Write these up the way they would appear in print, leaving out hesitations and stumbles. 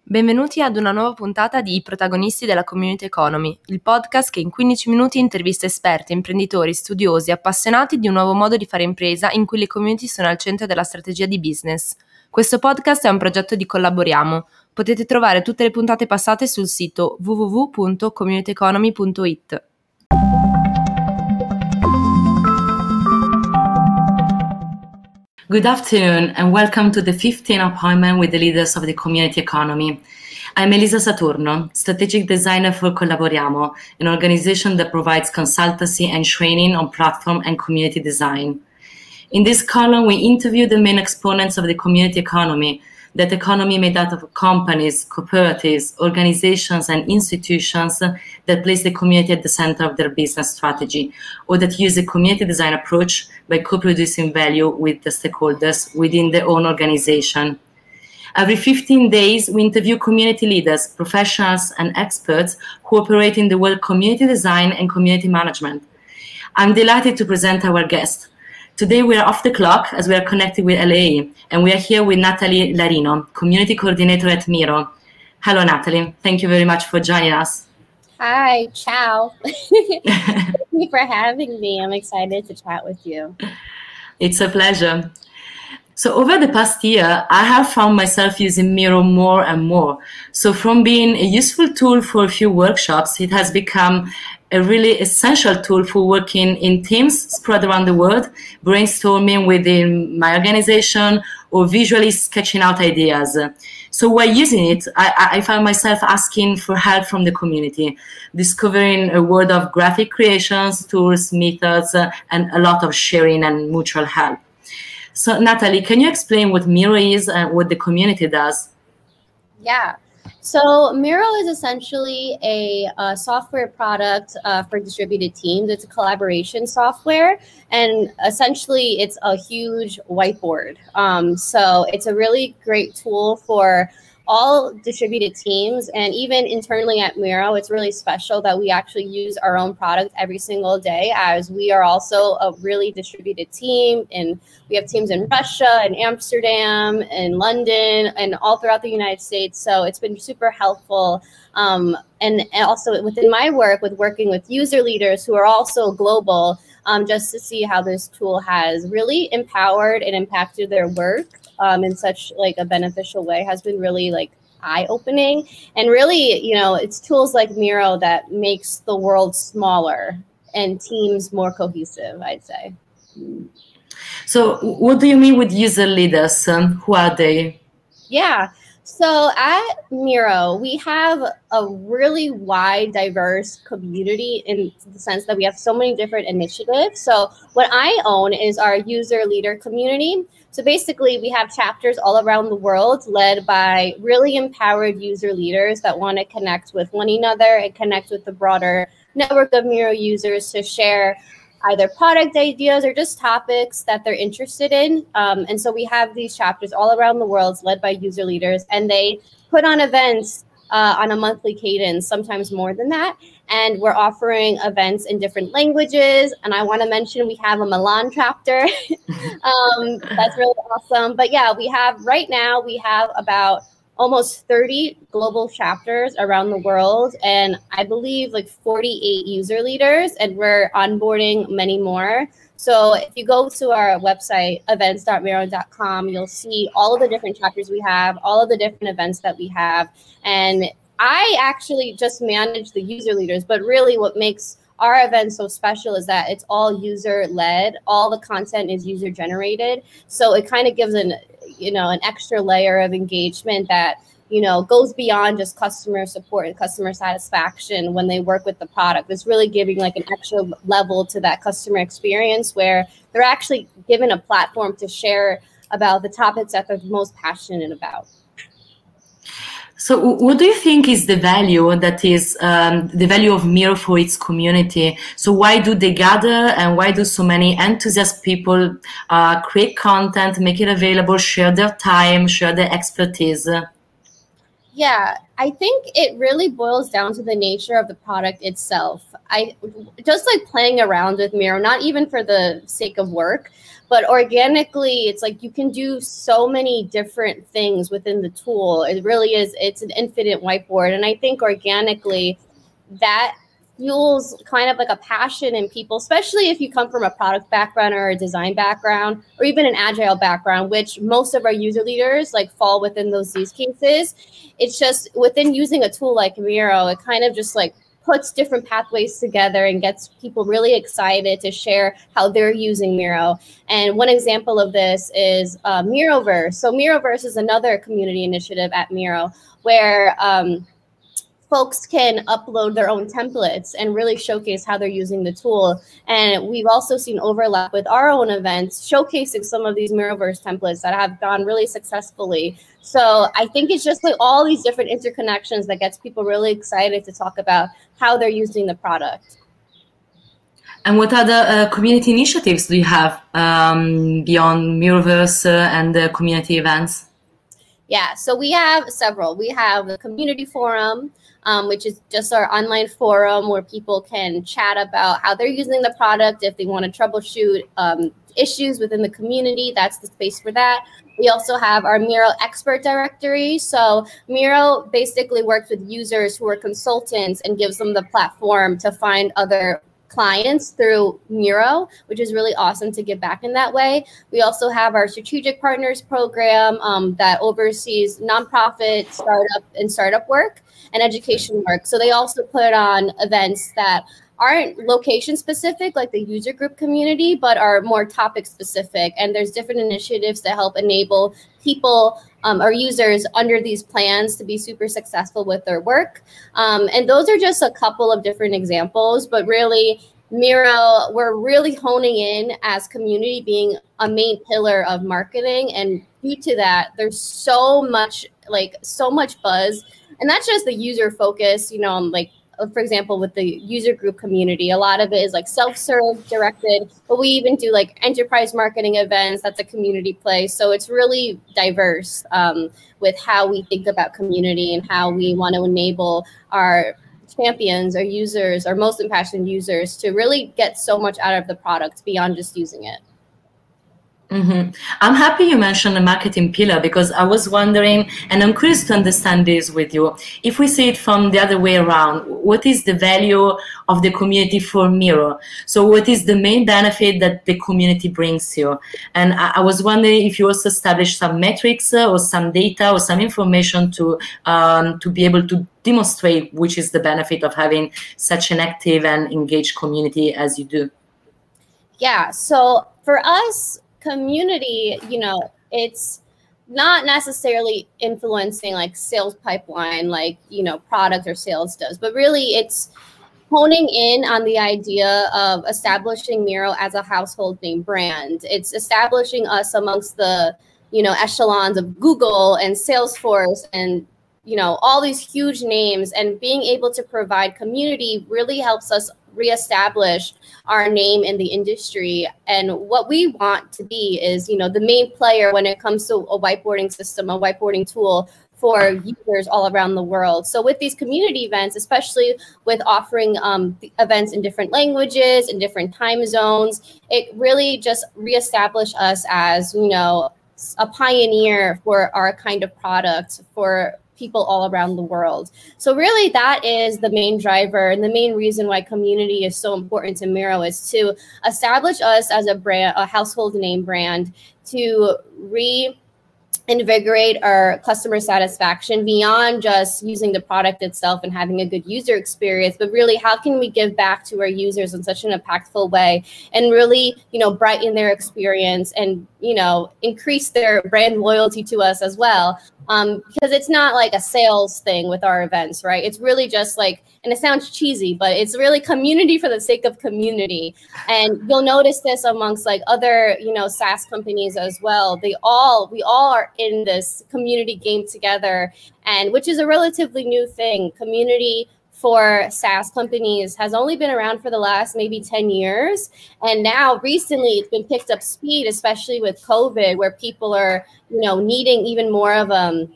Benvenuti ad una nuova puntata di I protagonisti della Community Economy, il podcast che in 15 minuti intervista esperti, imprenditori, studiosi, appassionati di un nuovo modo di fare impresa in cui le community sono al centro della strategia di business. Questo podcast è un progetto di Collaboriamo. Potete trovare tutte le puntate passate sul sito www.communityeconomy.it. Good afternoon and welcome to the 15th appointment with the leaders of the community economy. I'm Elisa Saturno, strategic designer for Collaboriamo, an organization that provides consultancy and training on platform and community design. In this column, we interview the main exponents of the community economy, that economy made out of companies, cooperatives, organizations, and institutions that place the community at the center of their business strategy, or that use a community design approach by co-producing value with the stakeholders within their own organization. Every 15 days, we interview community leaders, professionals, and experts who operate in the world of community design and community management. I'm delighted to present our guest. Today we are off the clock as we are connected with LA, and we are here with Natalie Larino, Community Coordinator at Miro. Hello, Natalie. Thank you very much for joining us. Hi, ciao. Thank you for having me. I'm excited to chat with you. It's a pleasure. So over the past year, I have found myself using Miro more and more. So from being a useful tool for a few workshops, it has become a really essential tool for working in teams spread around the world, brainstorming within my organization, or visually sketching out ideas. So while using it, I found myself asking for help from the community, discovering a world of graphic creations, tools, methods, and a lot of sharing and mutual help. So Natalie, can you explain what Miro is and what the community does? Yeah. So Miro is essentially a software product for distributed teams. It's a collaboration software, and essentially it's a huge whiteboard. So it's a really great tool for all distributed teams, and even internally at Miro, it's really special that we actually use our own product every single day, as we are also a really distributed team, and we have teams in Russia and Amsterdam and London and all throughout the United States. So it's been super helpful. And also within my work with working with user leaders who are also global, just to see how this tool has really empowered and impacted their work in such like a beneficial way has been really like eye-opening. And really, you know, it's tools like Miro that makes the world smaller and teams more cohesive, I'd say. So what do you mean with user leaders? Who are they? Yeah. So at Miro, we have a really wide, diverse community in the sense that we have so many different initiatives. So what I own is our user leader community. So basically, we have chapters all around the world led by really empowered user leaders that want to connect with one another and connect with the broader network of Miro users to share either product ideas or just topics that they're interested in. And so we have these chapters all around the world led by user leaders, and they put on events on a monthly cadence, sometimes more than that. And we're offering events in different languages. And I want to mention we have a Milan chapter. That's really awesome. But yeah, right now we have about almost 30 global chapters around the world, and I believe like 48 user leaders, and we're onboarding many more. So if you go to our website, events.miro.com, you'll see all of the different chapters we have, all of the different events that we have. And I actually just manage the user leaders, but really what makes our event so special is that it's all user-led. All the content is user-generated. So it kind of gives an extra layer of engagement that, goes beyond just customer support and customer satisfaction when they work with the product. It's really giving like an extra level to that customer experience where they're actually given a platform to share about the topics that they're most passionate about. So what do you think is the value the value of Miro for its community? So why do they gather, and why do so many enthusiast people create content, make it available, share their time, share their expertise? Yeah, I think it really boils down to the nature of the product itself. I just like playing around with Miro, not even for the sake of work, but organically, it's like you can do so many different things within the tool. It really is, it's an infinite whiteboard. And I think organically that fuels kind of like a passion in people, especially if you come from a product background or a design background or even an agile background, which most of our user leaders like fall within those use cases. It's just within using a tool like Miro, it kind of just like puts different pathways together and gets people really excited to share how they're using Miro. And one example of this is Miroverse. So Miroverse is another community initiative at Miro where folks can upload their own templates and really showcase how they're using the tool. And we've also seen overlap with our own events, showcasing some of these Miroverse templates that have gone really successfully. So I think it's just like all these different interconnections that gets people really excited to talk about how they're using the product. And what other community initiatives do you have beyond Miroverse and the community events? Yeah, so we have several. We have the community forum, which is just our online forum where people can chat about how they're using the product. If they want to troubleshoot issues within the community, that's the space for that. We also have our Miro expert directory. So Miro basically works with users who are consultants and gives them the platform to find other clients through Miro, which is really awesome to give back in that way. We also have our strategic partners program that oversees nonprofit, startup work and education work. So they also put on events that aren't location specific like the user group community, but are more topic specific. And there's different initiatives to help enable people or users under these plans to be super successful with their work. And those are just a couple of different examples, but really Miro, we're really honing in as community being a main pillar of marketing. And due to that, there's so much buzz. And that's just the user focus, for example, with the user group community, a lot of it is like self-serve directed, but we even do like enterprise marketing events. That's a community play. So it's really diverse with how we think about community and how we want to enable our champions, our users, our most impassioned users to really get so much out of the product beyond just using it. Mm-hmm. I'm happy you mentioned the marketing pillar because I was wondering, and I'm curious to understand this with you. If we see it from the other way around, what is the value of the community for Miro? So what is the main benefit that the community brings you? And I was wondering if you also established some metrics or some data or some information to be able to demonstrate which is the benefit of having such an active and engaged community as you do. Yeah, so for us, community, it's not necessarily influencing like sales pipeline, like, product or sales does, but really it's honing in on the idea of establishing Miro as a household name brand. It's establishing us amongst the, echelons of Google and Salesforce and, all these huge names, and being able to provide community really helps us reestablish our name in the industry. And what we want to be is, the main player when it comes to a whiteboarding system, a whiteboarding tool for users all around the world. So with these community events, especially with offering events in different languages, in different time zones, it really just reestablished us as, a pioneer for our kind of product for people all around the world. So really that is the main driver and the main reason why community is so important to Miro, is to establish us as a brand, a household name brand, to reinvigorate our customer satisfaction beyond just using the product itself and having a good user experience, but really how can we give back to our users in such an impactful way and really, brighten their experience and, increase their brand loyalty to us as well. Because it's not like a sales thing with our events, right? It's really just like, and it sounds cheesy, but it's really community for the sake of community. And you'll notice this amongst like other, SaaS companies as well. We all are in this community game together, and which is a relatively new thing. Community for SaaS companies has only been around for the last maybe 10 years. And now recently it's been picked up speed, especially with COVID, where people are, needing even more of a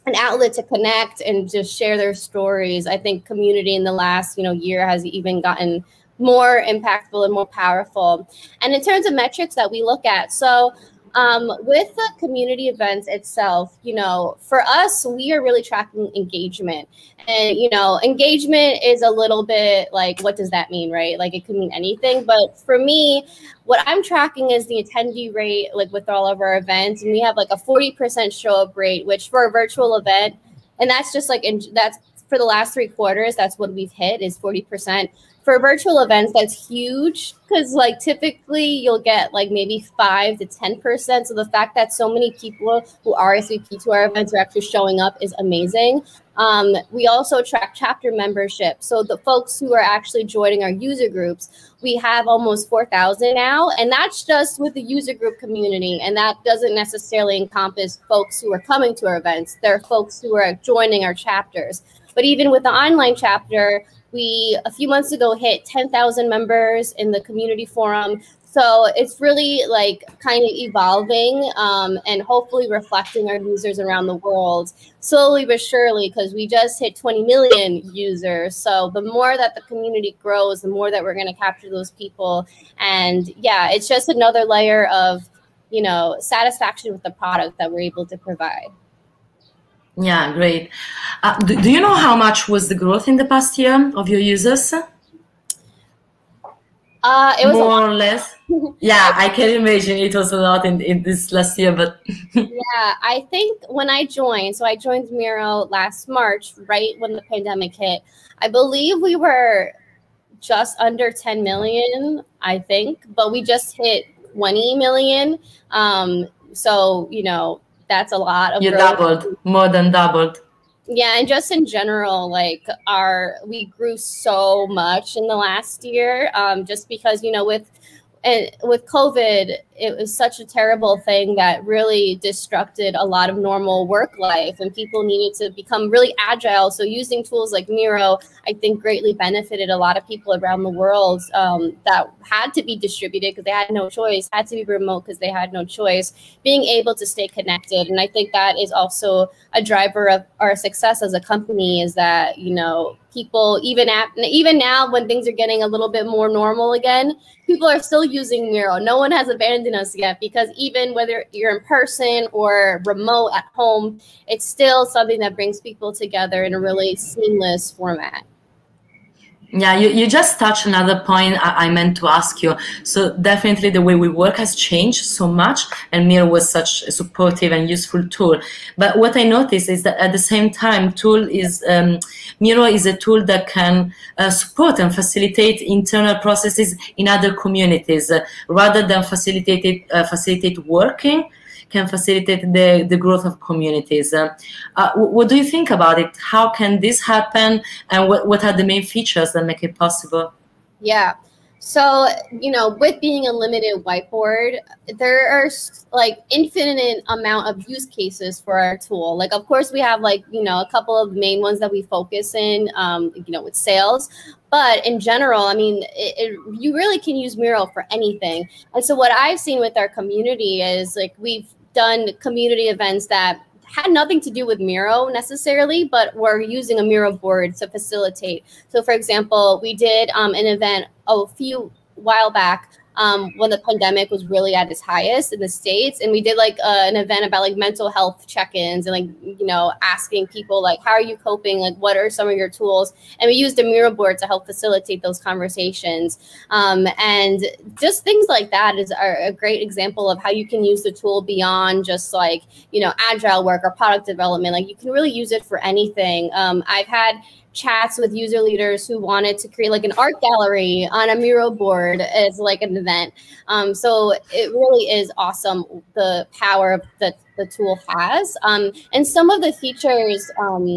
an outlet to connect and just share their stories. I think community in the last, year has even gotten more impactful and more powerful. And in terms of metrics that we look at, so with the community events itself, for us, we are really tracking engagement. And, engagement is a little bit like, what does that mean, right? Like it could mean anything. But for me, what I'm tracking is the attendee rate, like with all of our events. And we have like a 40% show up rate, which for a virtual event, and that's just like, that's for the last 3 quarters, that's what we've hit is 40%. For virtual events, that's huge because like typically you'll get like maybe 5 to 10%. So the fact that so many people who RSVP to our events are actually showing up is amazing. We also track chapter membership. So the folks who are actually joining our user groups, we have almost 4,000 now. And that's just with the user group community. And that doesn't necessarily encompass folks who are coming to our events. There are folks who are joining our chapters. But even with the online chapter, we, a few months ago, hit 10,000 members in the community forum. So it's really like kind of evolving and hopefully reflecting our users around the world slowly but surely, because we just hit 20 million users. So the more that the community grows, the more that we're going to capture those people. And yeah, it's just another layer of, satisfaction with the product that we're able to provide. Yeah, great. Do you know how much was the growth in the past year of your users? It was more or less. Yeah, I can imagine it was a lot in this last year, but yeah, I think when I joined, so I joined Miro last March, right when the pandemic hit. I believe we were just under 10 million, I think, but we just hit 20 million. So, that's a lot of you growth. doubled, more than doubled. Yeah, and just in general, like we grew so much in the last year, just because with COVID, it was such a terrible thing that really disrupted a lot of normal work life, and people needed to become really agile. So using tools like Miro, I think, greatly benefited a lot of people around the world that had to be distributed because they had no choice, had to be remote because they had no choice, being able to stay connected. And I think that is also a driver of our success as a company, is that, people, even now when things are getting a little bit more normal again, people are still using Miro. No one has abandoned us yet, because even whether you're in person or remote at home, it's still something that brings people together in a really seamless format. Yeah, you just touched another point I meant to ask you. So definitely the way we work has changed so much, and Miro was such a supportive and useful tool. But what I noticed is that at the same time, Miro is a tool that can support and facilitate internal processes in other communities, rather than facilitate working. Can facilitate the growth of communities. What do you think about it? How can this happen? And what are the main features that make it possible? Yeah. So, with being a limited whiteboard, there are like infinite amount of use cases for our tool. Like, of course, we have a couple of main ones that we focus in, with sales. But in general, I mean, you really can use Miro for anything. And so what I've seen with our community is like we've done community events that had nothing to do with Miro necessarily, but we're using a Miro board to facilitate. So for example, we did an event a few while back when the pandemic was really at its highest in the States. And we did an event about mental health check-ins and asking people how are you coping? What are some of your tools? And we used a Miro board to help facilitate those conversations. And just things like that are a great example of how you can use the tool beyond just agile work or product development. You can really use it for anything. I've had chats with user leaders who wanted to create an art gallery on a Miro board as an event. So it really is awesome, the power that the tool has. And some of the features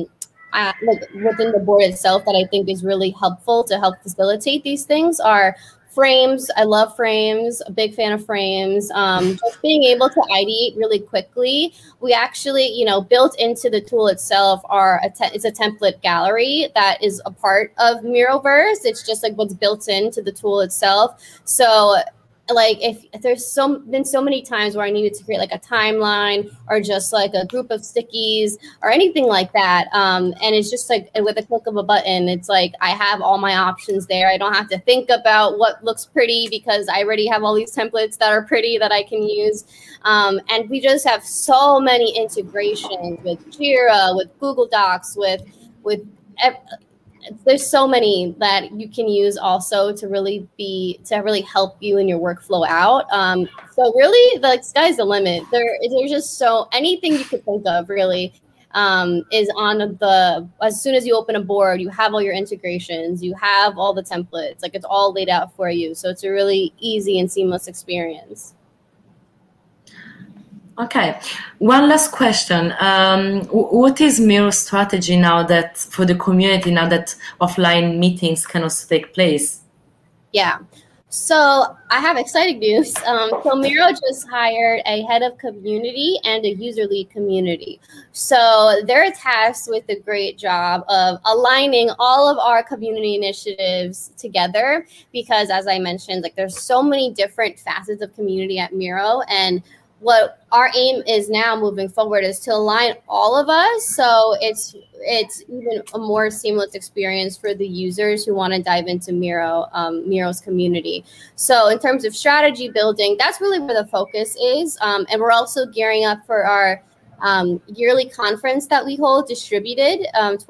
within the board itself that I think is really helpful to help facilitate these things are frames. I love frames, a big fan of frames. Just being able to ideate really quickly. We actually, built into the tool itself it's a template gallery that is a part of Miroverse. It's just what's built into the tool itself. So like if there's been so many times where I needed to create like a timeline or just like a group of stickies or anything like that. And it's just like with a click of a button, it's like I have all my options there. I don't have to think about what looks pretty because I already have all these templates that are pretty that I can use. And we just have so many integrations with Jira, with Google Docs, with there's so many that you can use also to really help you in your workflow out. So really, the sky's the limit. There's just so anything you could think of really is on as soon as you open a board, you have all your integrations, you have all the templates, like it's all laid out for you. So it's a really easy and seamless experience. Okay, one last question. What is Miro's strategy now that for the community, now that offline meetings can also take place? Yeah, so I have exciting news. So Miro just hired a head of community and a user lead community. So they're tasked with the great job of aligning all of our community initiatives together because, as I mentioned, like there's so many different facets of community at Miro, and what our aim is now moving forward is to align all of us so it's even a more seamless experience for the users who want to dive into Miro's community. So in terms of strategy building, that's really where the focus is. And we're also gearing up for our yearly conference that we hold, Distributed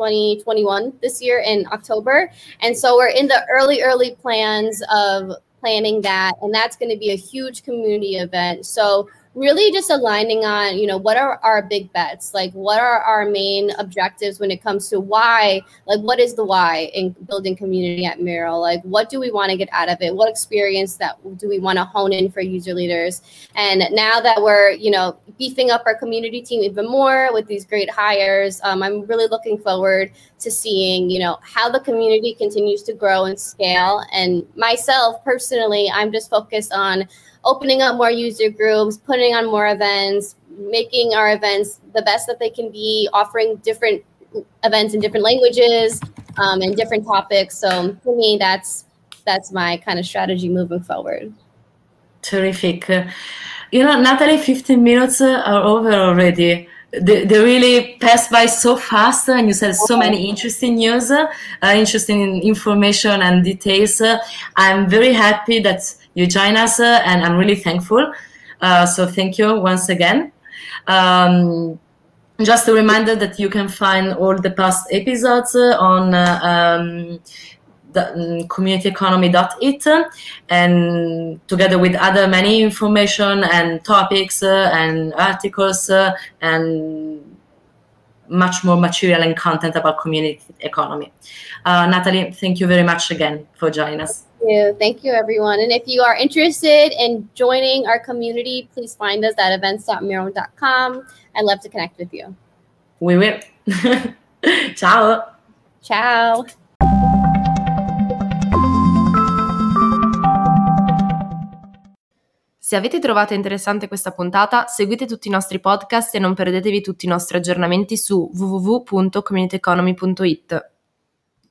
2021 this year in October. And so we're in the early plans of planning that, and that's going to be a huge community event. So really just aligning on, what are our big bets? Like, what are our main objectives when it comes to why? Like, what is the why in building community at Miro? Like, what do we want to get out of it? What experience do we want to hone in for user leaders? And now that we're, beefing up our community team even more with these great hires, I'm really looking forward to seeing, how the community continues to grow and scale. And myself personally, I'm just focused on opening up more user groups, putting on more events, making our events the best that they can be, offering different events in different languages and different topics. So for me, that's my kind of strategy moving forward. Terrific. Natalie, 15 minutes are over already. They really passed by so fast, and you said so many interesting news, interesting information and details. I'm very happy that you join us, and I'm really thankful. So thank you once again. Just a reminder that you can find all the past episodes on the communityeconomy.it, and together with other many information and topics and articles and much more material and content about community economy. Natalie, thank you very much again for joining us. Thank you, everyone. And if you are interested in joining our community, please find us at events.miro.com. I'd love to connect with you. We will. Ciao. Ciao. Se avete trovato interessante questa puntata, seguite tutti i nostri podcast e non perdetevi tutti i nostri aggiornamenti su www.communityeconomy.it.